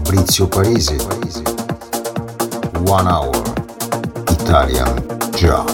Fabrizio Parisi. One Hour Italian Job.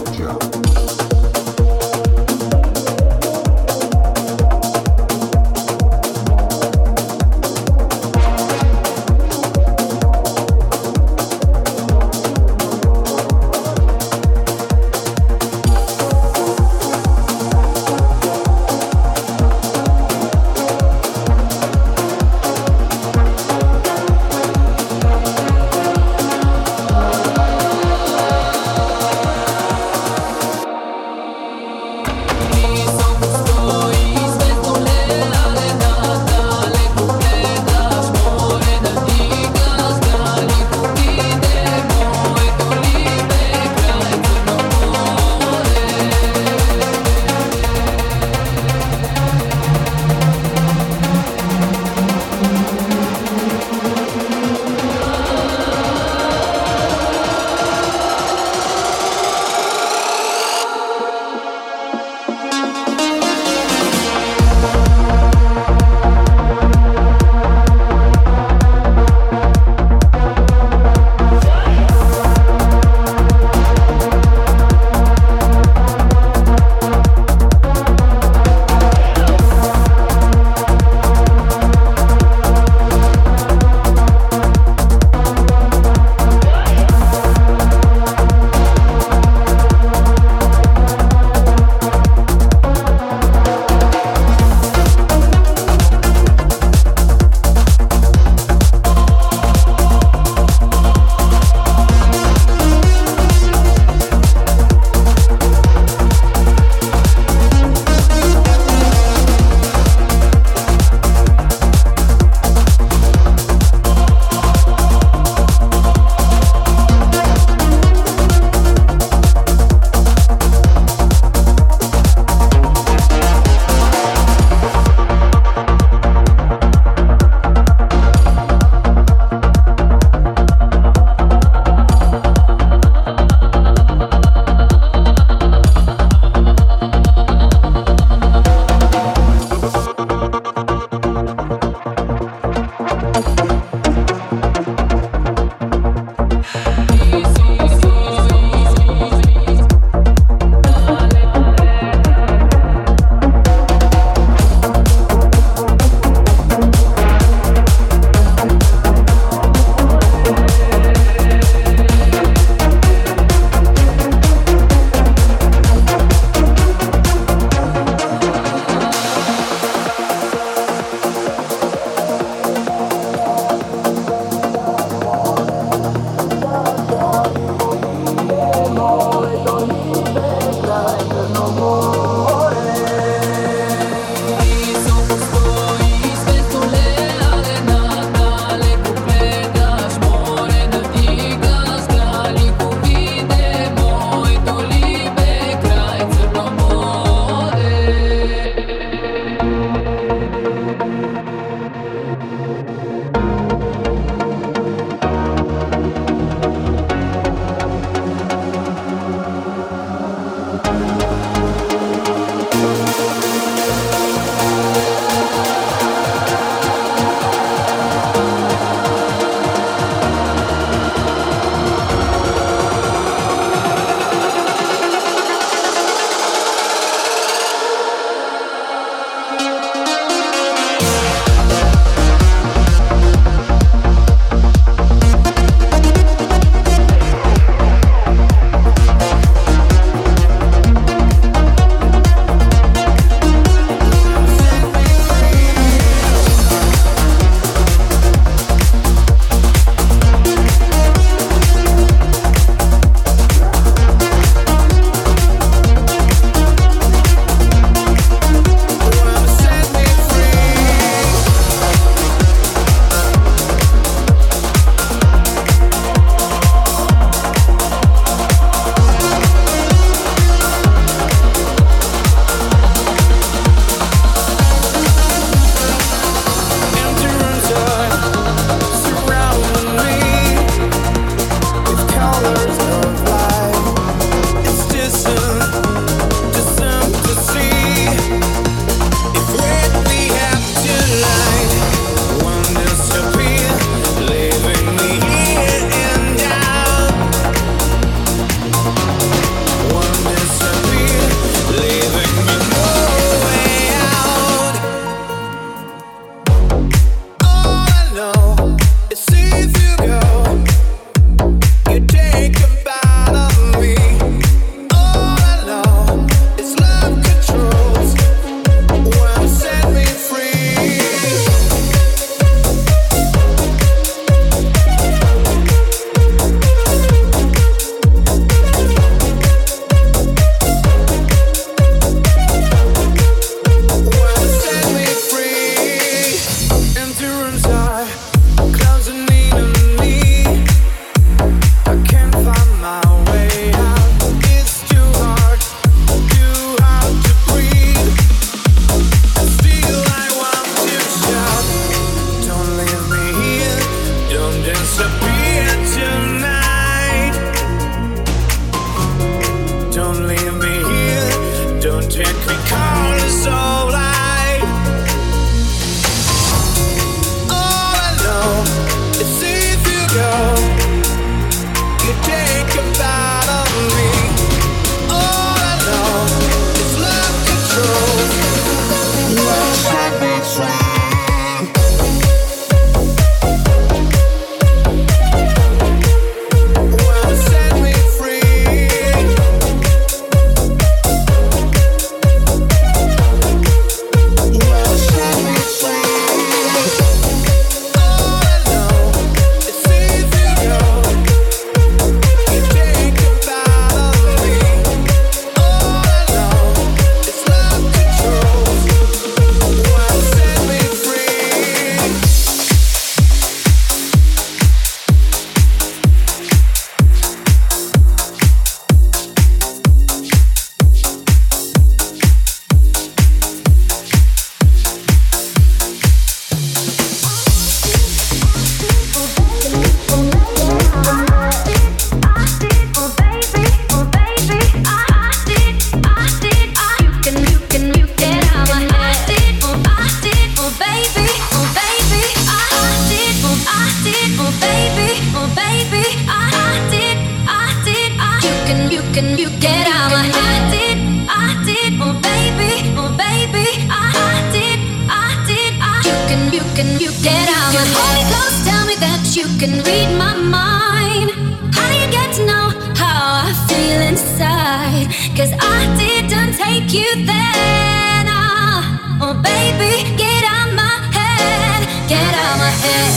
can read my mind. How do you get to know how I feel inside? 'Cause I didn't take you there. Nah. Oh baby, get out my head, get out my head.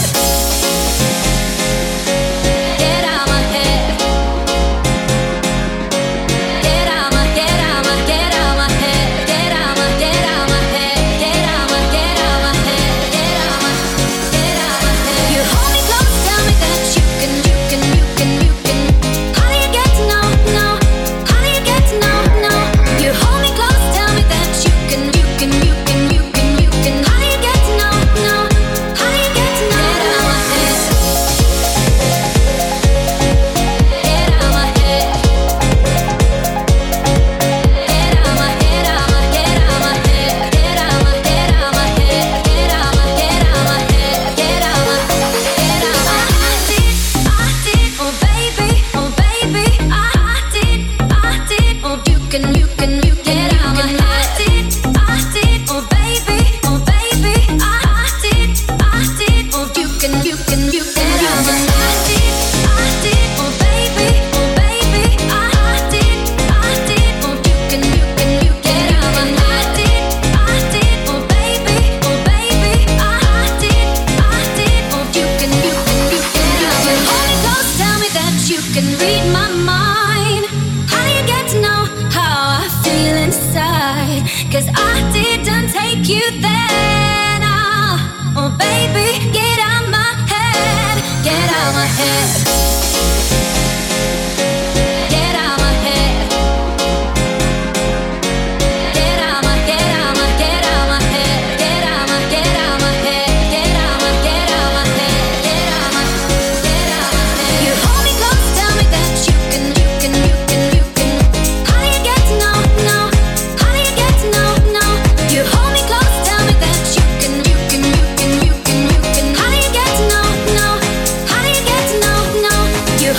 Get out my head. Get out my, get out my, get out my head. Get out my, get out my head. Get out my, get out my head. Get out my, get out my head. You hold me close, tell me that you can. How do you get to know, know? How do you get to know, know? You hold me close, tell me that you can. How do you get to know, know? How do you get to know? Get out my head. Get out my head. Get out my, get out my, get out my head. Get out my, get out my, get out my head. Get out my, get out my, get out my. I did, oh baby, I did, oh you can, get out my head. I did, oh baby, I did, oh you can, get out my head. I did, oh baby, I did, oh you can, get out my head. I did, oh baby, I did, oh you can, get out my head. Hold me close, tell me that you can read my mind. How do you get to know how I feel inside? 'Cause I didn't take you there. Nah. Oh baby, get out my head, get out my head. Get out my head. Get out my, get out my, get out my head. Get out my, get out my head. Get out my, get out my head. Get out my, get out my head. You hold me close, tell me that you can. How do you get to know, know? How do you get to know, know? You hold me close, tell me that you can. How do you get to know, know? How do you get to know, know? You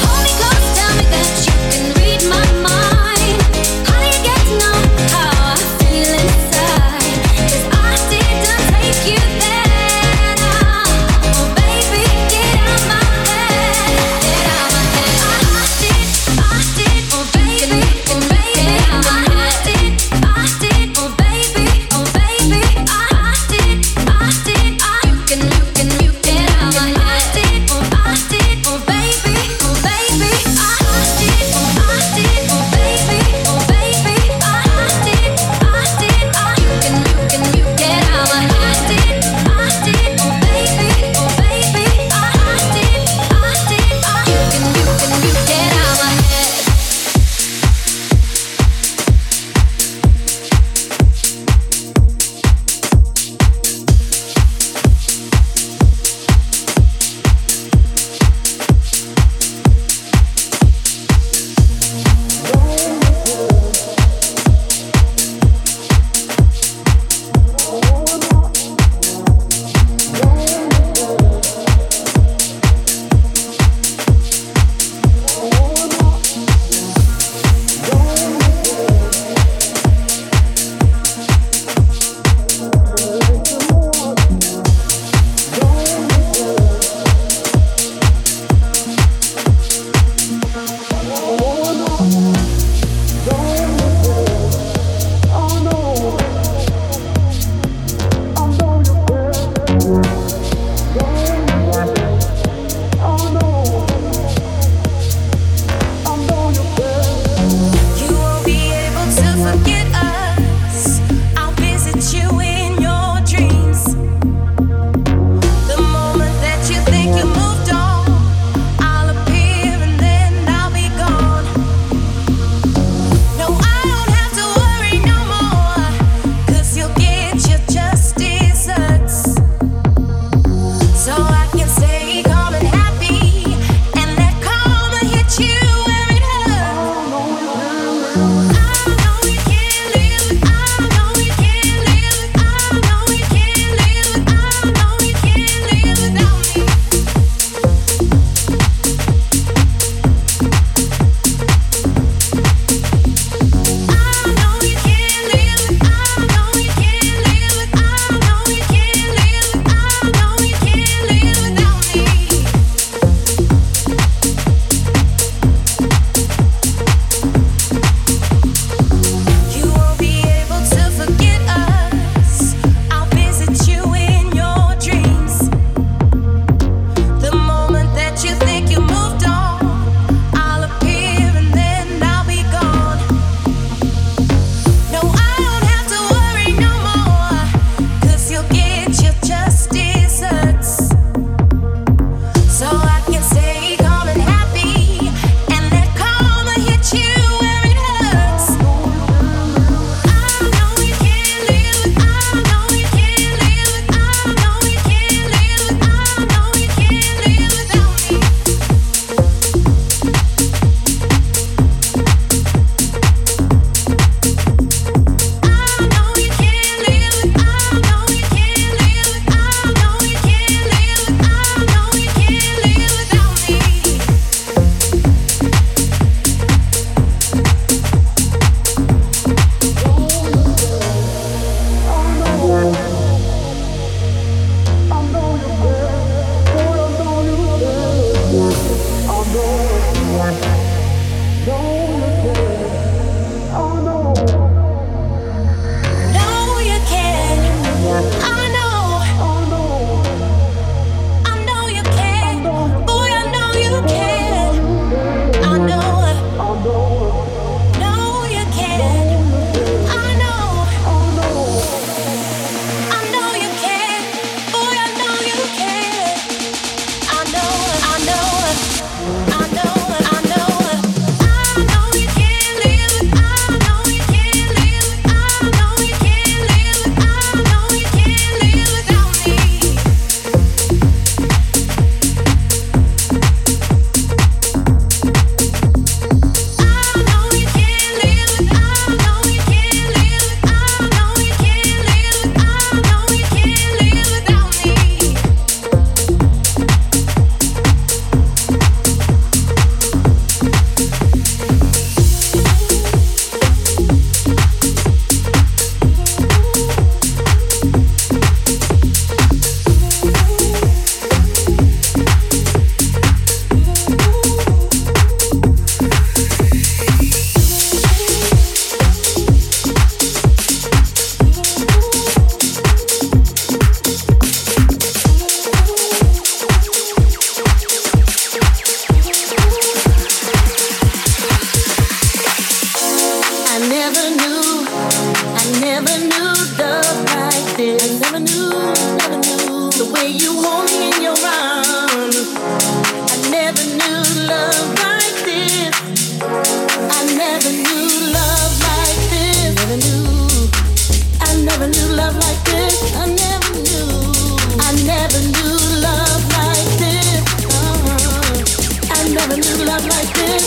this. I never knew the way you hold me in your arms. I never knew love like this. I never knew love like this. I never knew love like this. I never knew love like this. I never knew love like this.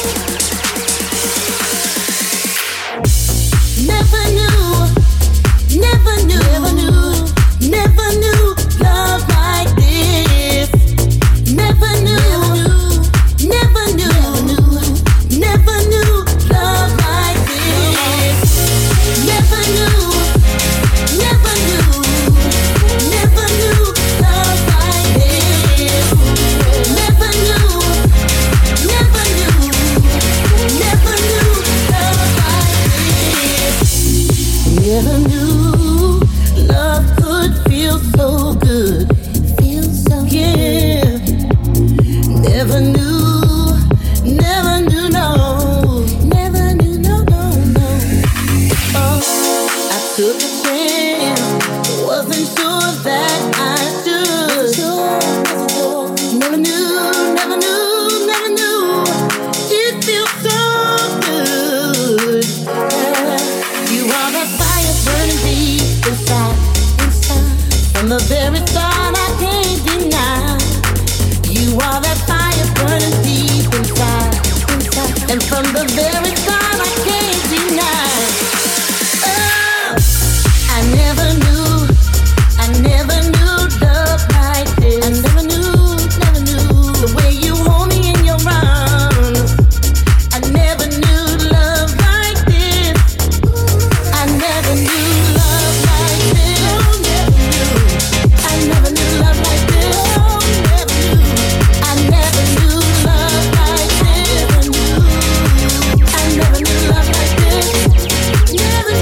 Never knew love like this. Never knew love like this. Never knew love like this. Never knew love like this. Never knew love could feel so good. Yeah. Never knew, no. Oh, I took a chance, wasn't sure that I should. Never knew, it feels so good. You are the fire burning deep inside. From the very start, I can't deny. You are that fire burning deep inside. And from the very start, I can't deny. Oh, I never knew love like this. I never knew the way you hold me in your arms. I never knew love like this. I never knew love like this. I never knew love like this. I never knew love like this. I never knew love like this. Never.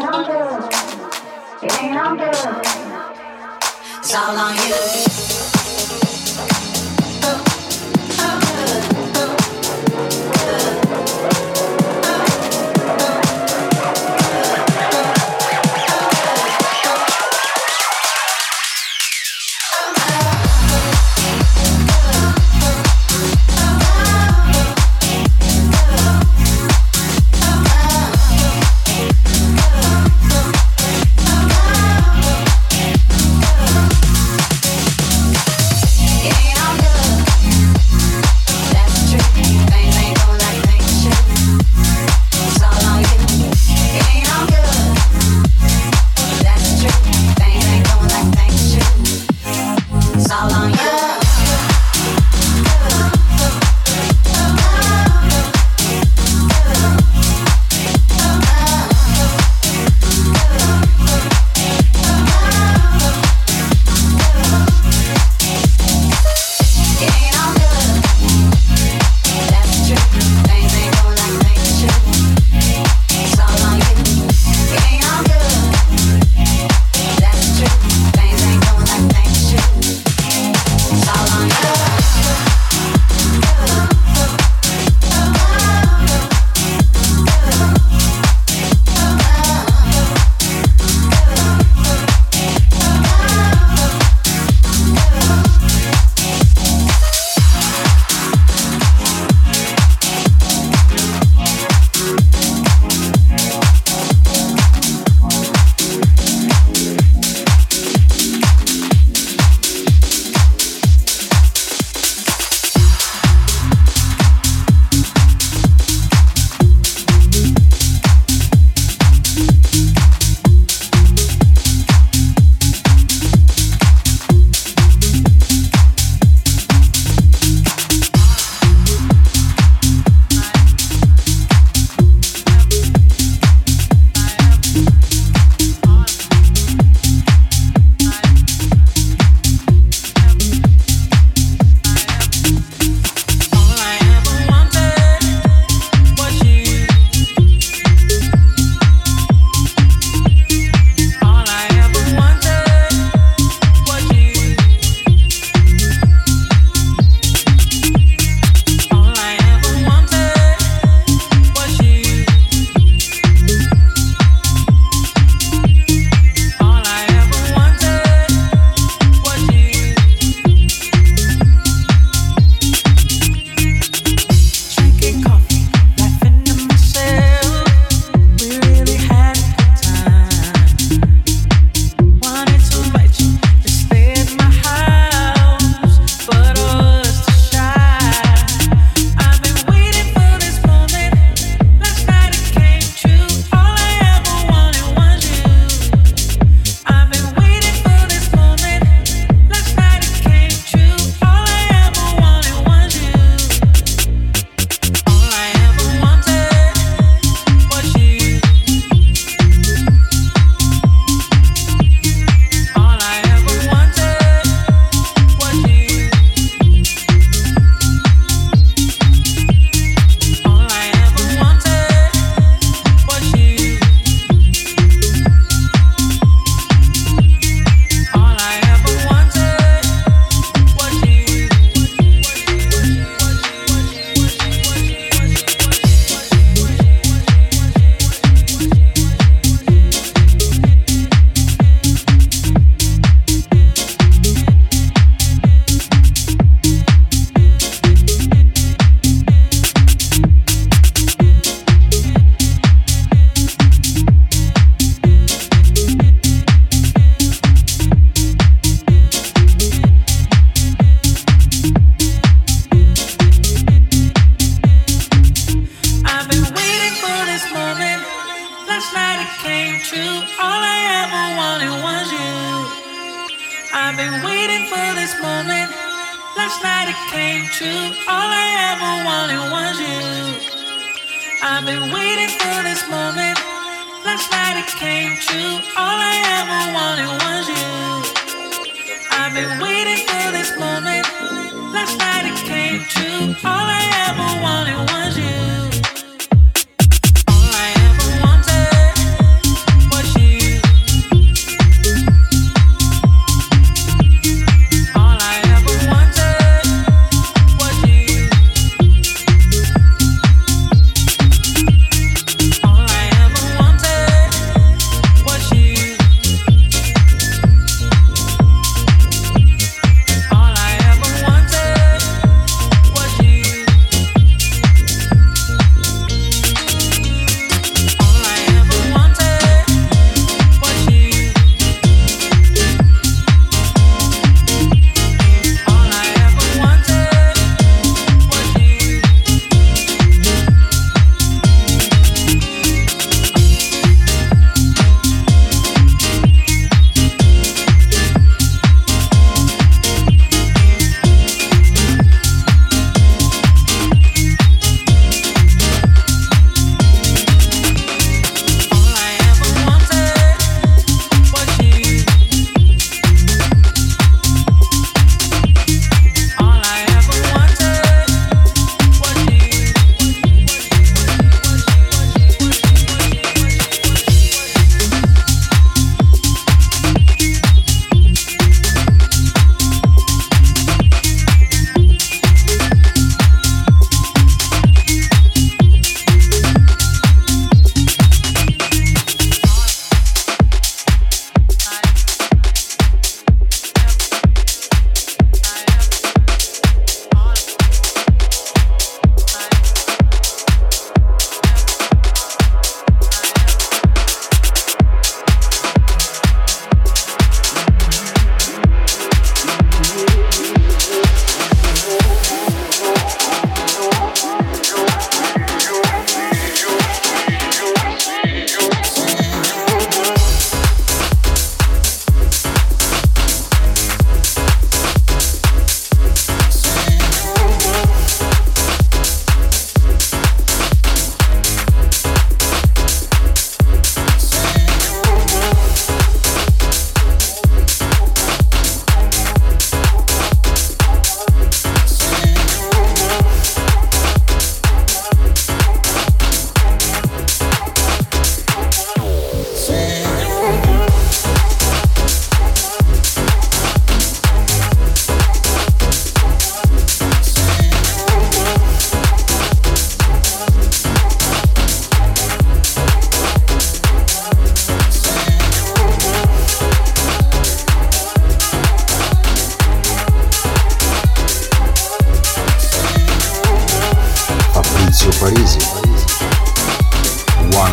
It's all on you. All I ever wanted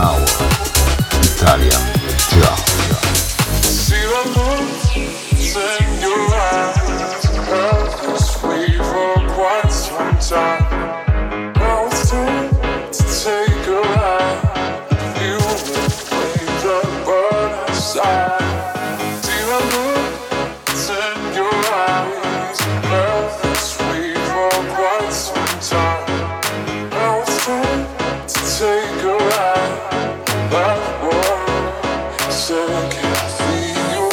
Hour Italian Job. See the moons in your eyes, held this way for quite some time. Now it's time to take a ride. Feel the flames that burn inside. See the moons in your eyes, held this way for quite some time. Now it's time to take a ride. That boy said I can't feel you.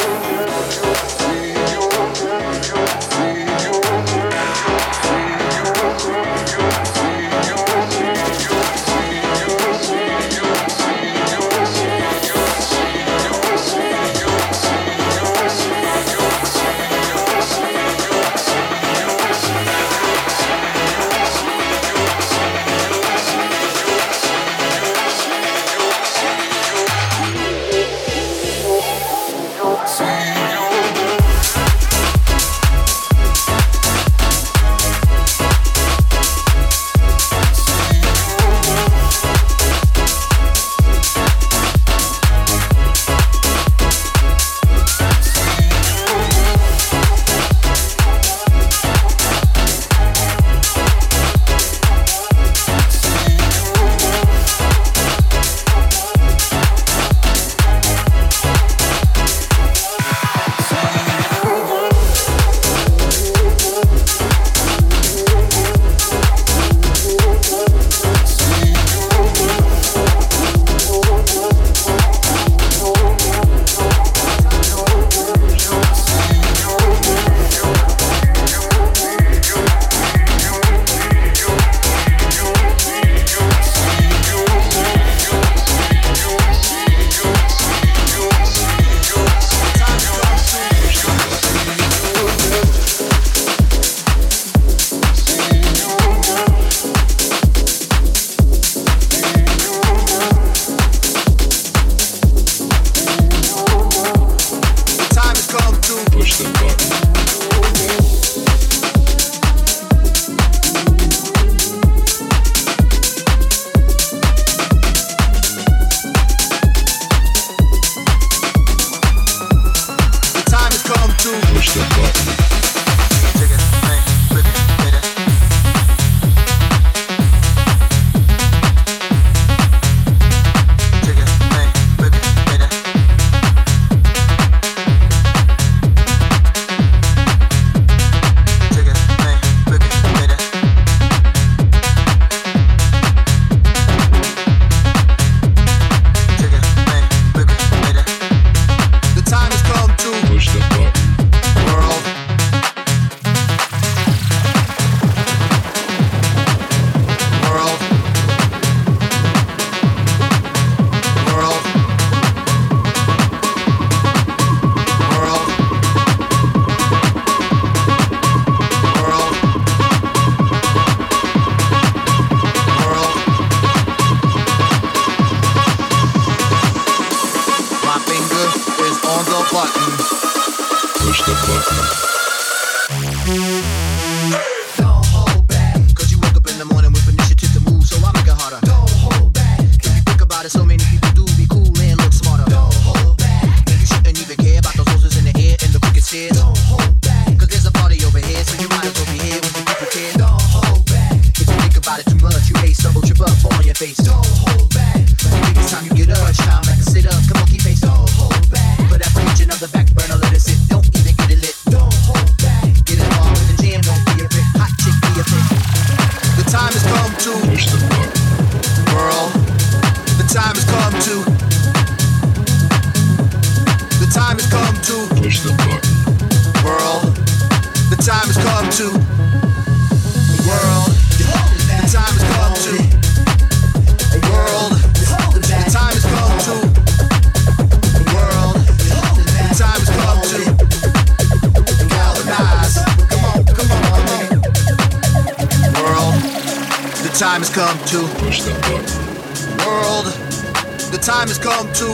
Time has come to push the button. World, the time has come to.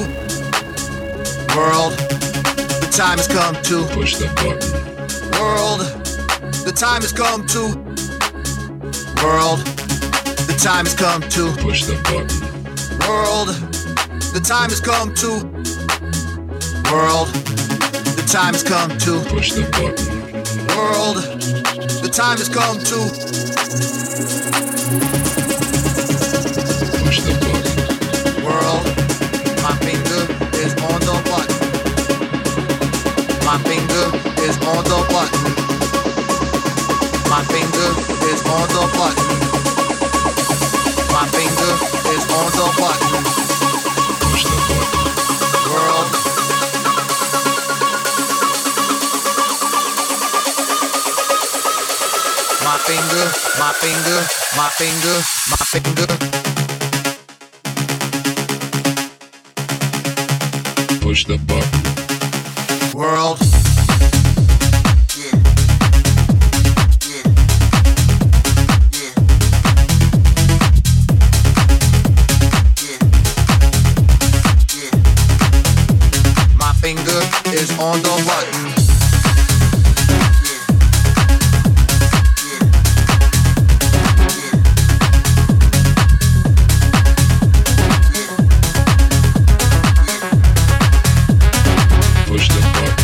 World, the time has come to push the button. World, the time has come to. World, the time has come to push the button. World, The time has come to. World, the time has come to. Push the button. World, the time has come to. Push the button. World, my finger is on the button. My finger is on the button. My finger is on the button. My finger is on the button. Push the button. World. My finger, my finger, my finger, my finger. Push the button. World. My finger is on the button. Push the button.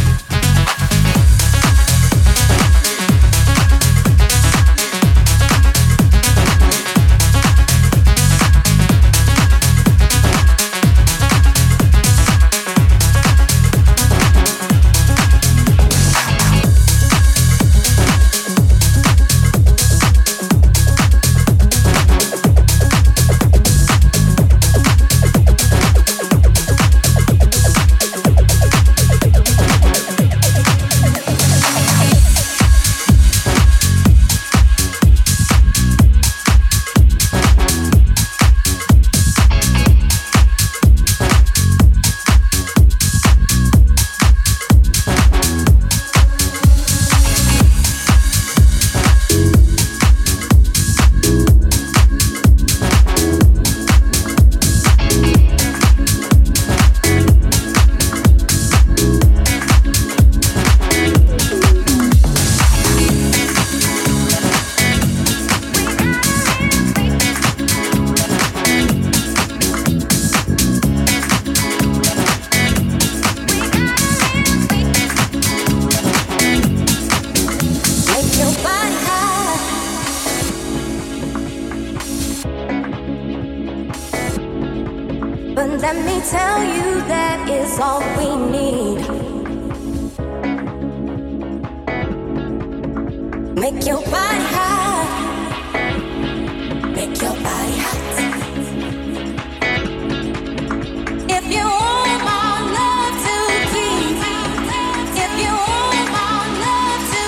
Let me tell you that is all we need. Make your body hot. Make your body hot. If you want my love to keep, if you want my love to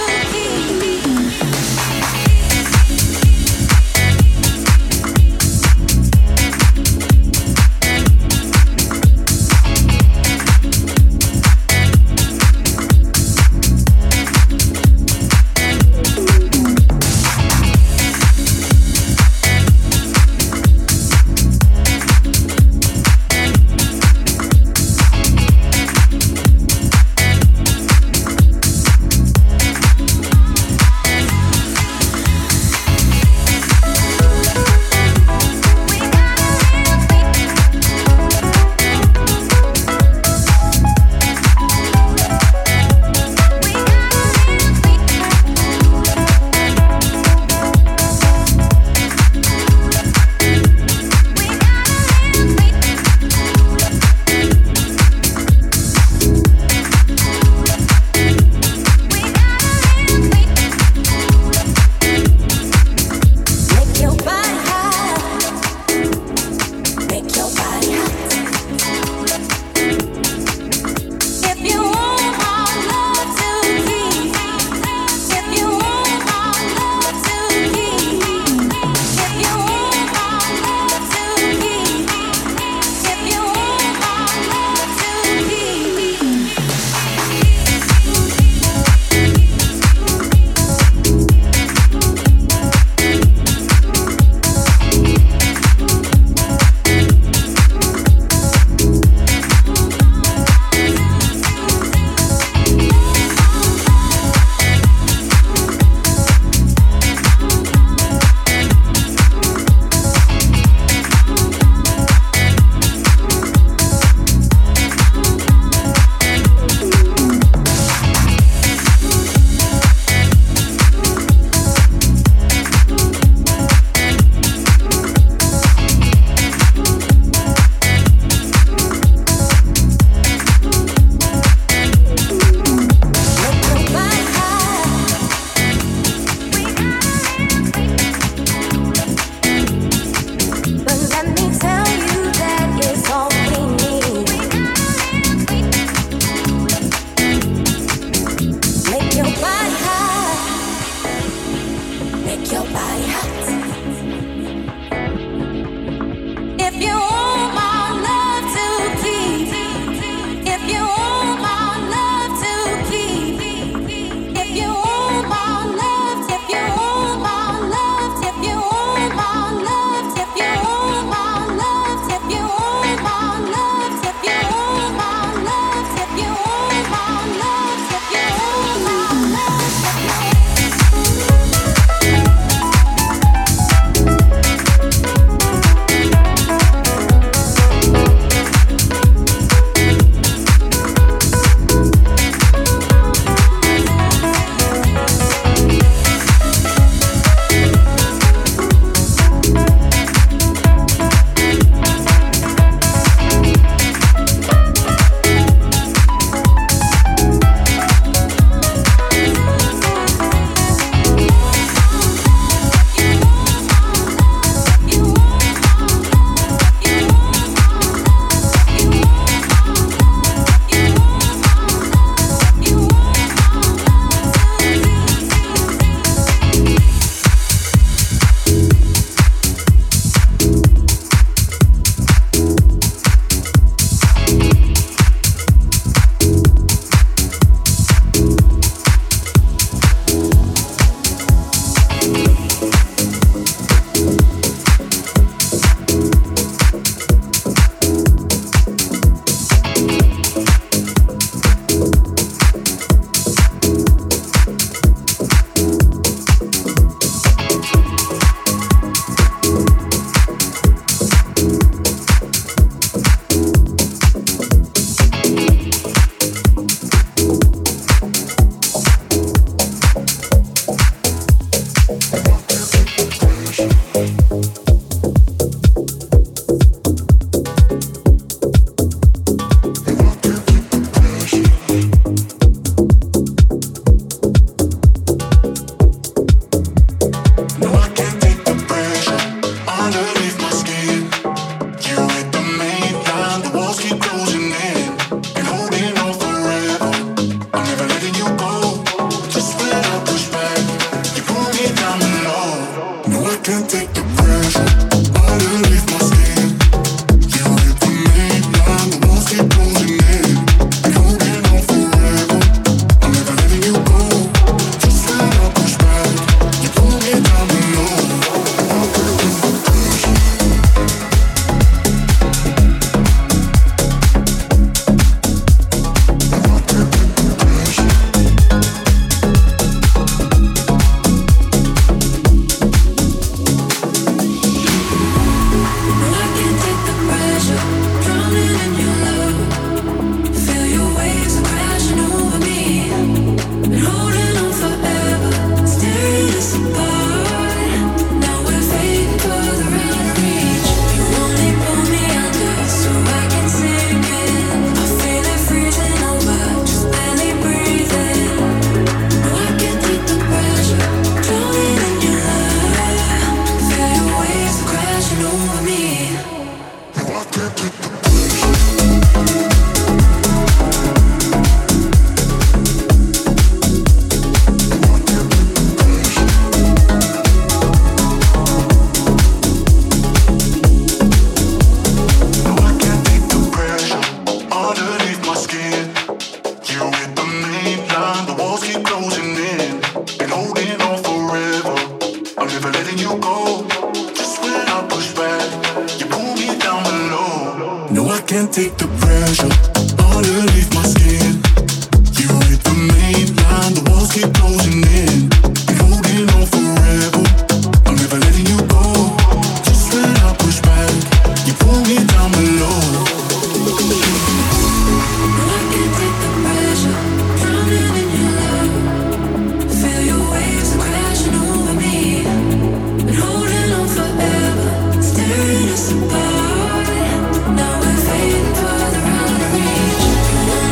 Now we're fading further out of reach.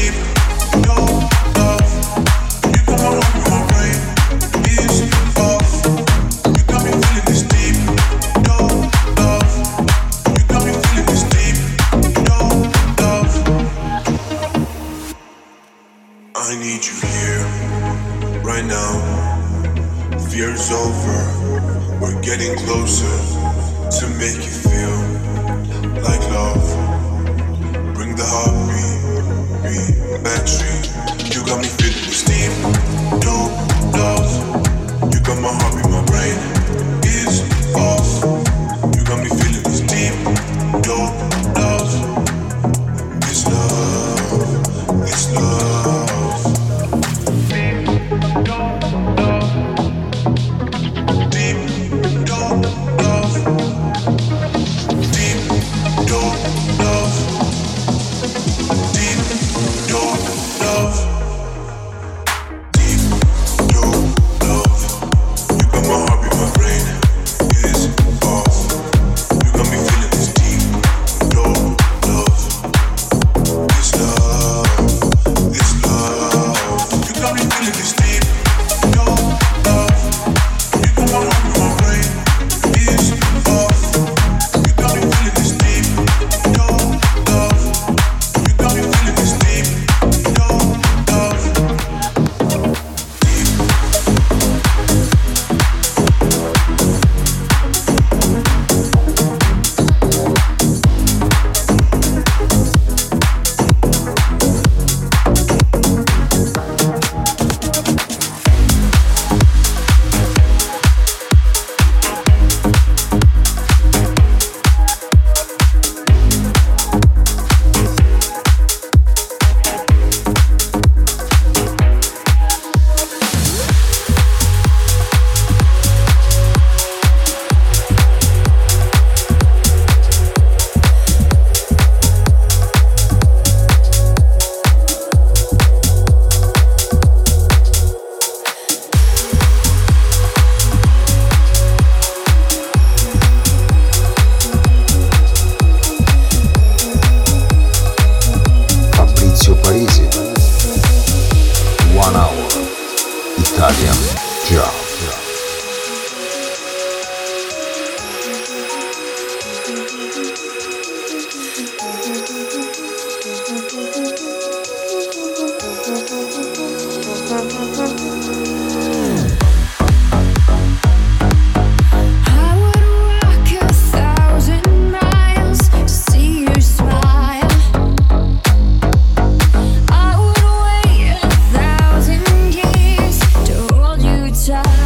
Child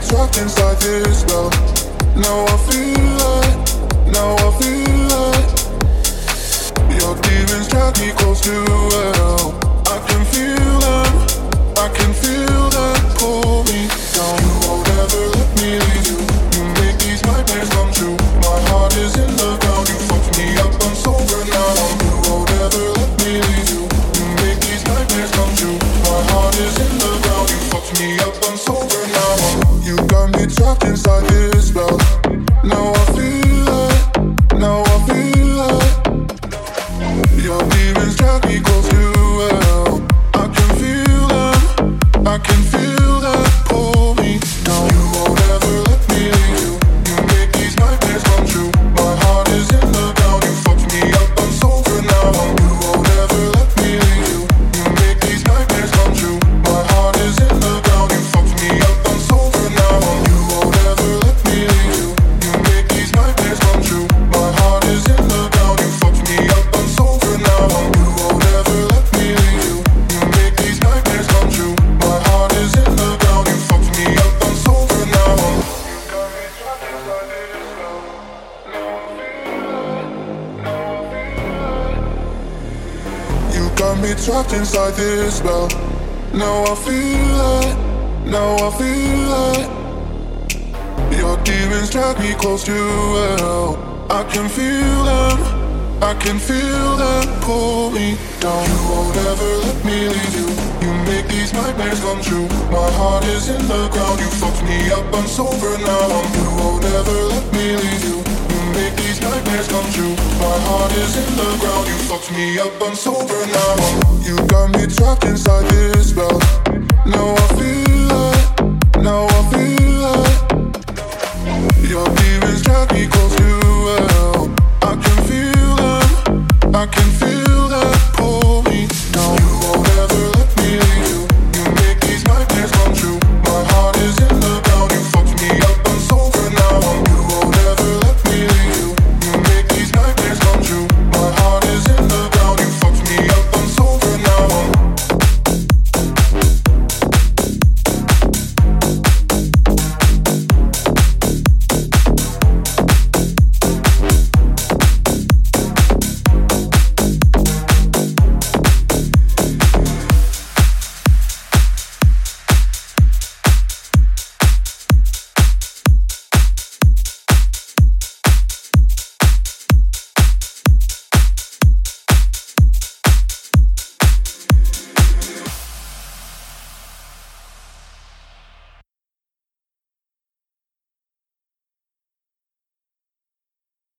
trapped inside this spell. Now I feel it, now I feel it. Your demons drag me close to hell. I can feel them, I can feel them pull me down. You won't ever let me leave you. You make these nightmares come true. My heart is in the ground. You fucked me up, I'm sober now. You won't ever let me leave you. You make these nightmares come true. My heart is in the ground. You fucked me up, I'm sober now. You got me trapped inside this spell. Now I feel it, now I feel it. Your demons drag me close to hell. I can feel them, I can feel them pull me down. You won't ever let me leave you. You make these nightmares come true. My heart is in the ground. You fucked me up, I'm sober now. You won't ever let me leave you. You make these nightmares come true. My heart is in the ground. You fucked me up, I'm sober now. You won't ever let me leave you. You make these nightmares come true. My heart is in the ground. You fucked me up, I'm sober now. You won't ever let me leave you. You make these nightmares come true. My heart is in the ground. You fucked me up, I'm sober now. You got me trapped inside this spell. Now I feel it, now I feel it. Your demons drag me close to hell. I can feel them, I can feel them pull me down. You won't ever let me leave you. You make these nightmares come true. My heart is in the ground. You fucked me up, I'm sober now. You won't ever let me leave you. You make these nightmares come true. My heart is in the ground. You fucked me up, I'm sober now. You got me trapped inside this spell. Now I